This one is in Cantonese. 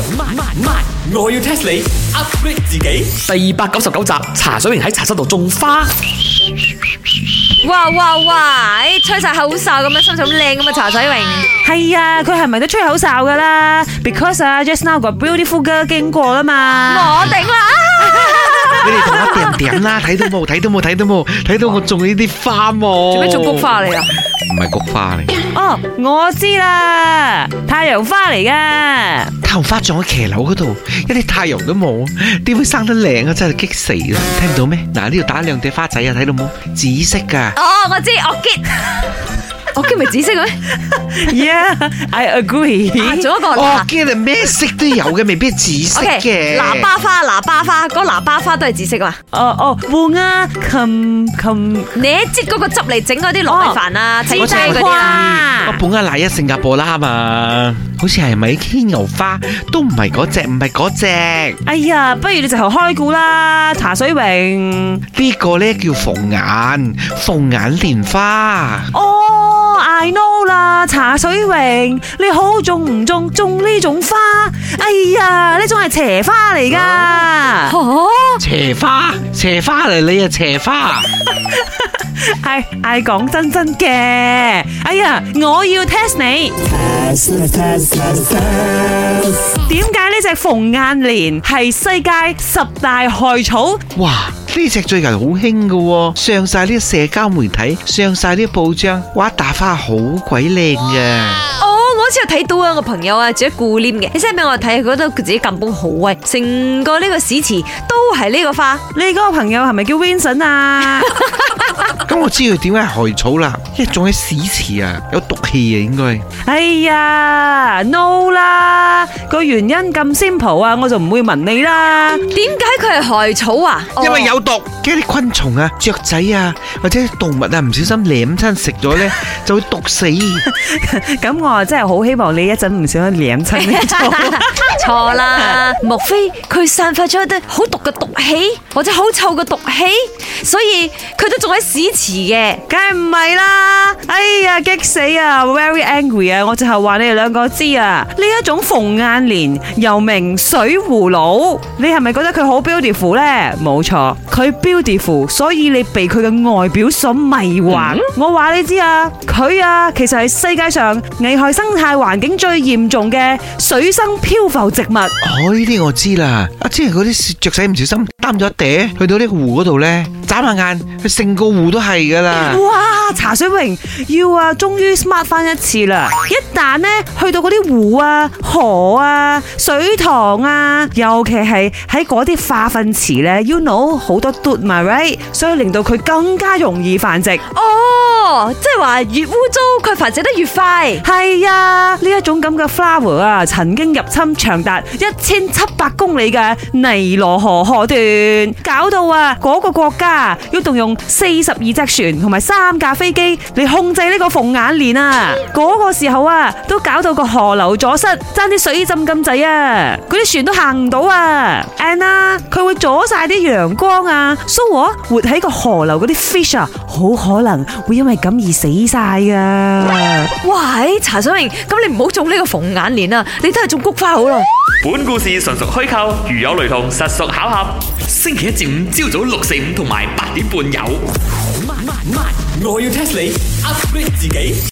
我要 test 你 upgrade 自己。第299集，茶水榮喺茶室度種花。 哇！吹晒口哨咁樣，心情咁靚咁啊！茶水榮係啊，佢係咪都吹口哨噶啦 ？Because just now 個 beautiful girl 經過啦嘛。 我頂啦！ 你哋同我點啦，睇到冇？睇到我種呢啲花冇？ 做咩種菊花嚟啊？ 唔係菊花嚟。 哦，我知啦，太陽花嚟噶。 太陽花種喺騎樓嗰度，一啲太陽都冇，點會生得靚啊？真係激死啦！聽唔到咩？嗱，呢度打兩隻花仔啊，睇到冇？紫色噶。 哦，我知，我見咪紫色嘅咩 Yeah，I agree。 仲一個哦，見係咩色都有嘅，未必係紫色嘅。 喇叭花，嗰個喇叭花都係紫色嘛？ 換啊，琴， 你擠嗰個汁嚟整嗰啲糯米飯啊，整低嗰啲啊。 我本嚟喺新加坡啦嘛，好似係咪牽牛花都唔係嗰隻，唔係嗰隻。 哎呀，不如你直頭開估啦，茶水榮。 呢個咧叫鳳眼蓮花。 哦，I know 啦，茶水榮，你好種唔種呢種花？哎呀，呢種係邪花嚟噶。 邪花嚟，你啊邪花。 係講真嘅。哎呀，我要 test 你。點解呢隻鳳眼蓮係世界10大害草？ 哇！呢隻最近好興噶，上晒啲社交媒體，上晒啲報章，哇！打花好鬼靚嘅。 我好似有睇到啊，個朋友啊，住喺顧廉嘅，你 send 俾我睇，佢覺得佢自己咁崩好威，成個呢個市池都係呢個花。 你嗰個朋友係咪叫 Vincent 啊？ 咁我知佢點解係害草啦，因為種喺屎池啊，有毒氣啊，應該。 哎呀 ，no 啦，個原因咁 simple 啊，我就唔會問你啦。 點解佢係害草啊？ 因為有毒，驚啲昆蟲啊、雀仔啊或者動物啊唔小心舐親食咗咧，就會毒死。 咁我真係好希望你一陣唔小心舐親呢種。 錯啦，莫非佢散發咗一啲好毒嘅毒氣，或者好臭嘅毒氣，所以佢都仲喺屎池嘅？ 梗係唔係啦！哎呀，激死啊 ！Very angry 啊！我就係話你哋兩個知啊，呢一種鳳眼蓮又名水葫蘆，你係咪覺得佢好 beautiful 咧？冇錯，佢 beautiful， 所以你被佢嘅外表所迷惑。我話你知啊，佢啊其實係世界上危害生態環境最嚴重嘅水生漂浮植物。 哦，呢啲我知啦。之前嗰啲雀仔唔小心擔咗一嗲，去到呢個湖嗰度咧，眨下眼，佢成個湖都係噶啦。 哇！茶水榮要啊，終於 smart 翻一次啦！一旦呢去到嗰啲湖啊、河啊、水塘啊，尤其係喺嗰啲化糞池咧 ，you know 好多嘟嘛 right， 所以令到佢更加容易繁殖。 哦，即係話越污糟，佢繁殖得越快。 係啊，呢一種咁嘅 flower 啊，曾經入侵長達1700公里嘅尼羅河河段，搞到啊嗰個國家要動用42隻船同埋3架飛機嚟控制呢個鳳眼蓮啊！嗰個時候啊，都搞到個河流阻塞，爭啲水浸咁滯啊！嗰啲船都行唔到啊 ！And 啊，佢會阻晒啲陽光啊，所以活喺個河流嗰啲 fish 啊，好可能會因為咁而死晒噶。 喂，茶水榮，咁你唔好種呢個鳳眼蓮啊，你都係種菊花好啦。 本故事純屬虛構，如有雷同，實屬巧合。星期一至五朝早6、4、5同埋8點半有。我要 test 你 upgrade 自己。